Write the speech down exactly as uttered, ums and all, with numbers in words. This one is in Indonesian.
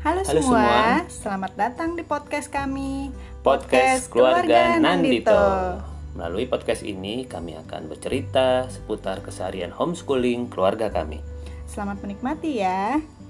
Halo, Halo semua. semua. Selamat datang di podcast kami, Podcast Keluarga Nandito. Melalui podcast ini kami akan bercerita seputar keseharian homeschooling keluarga kami. Selamat menikmati ya.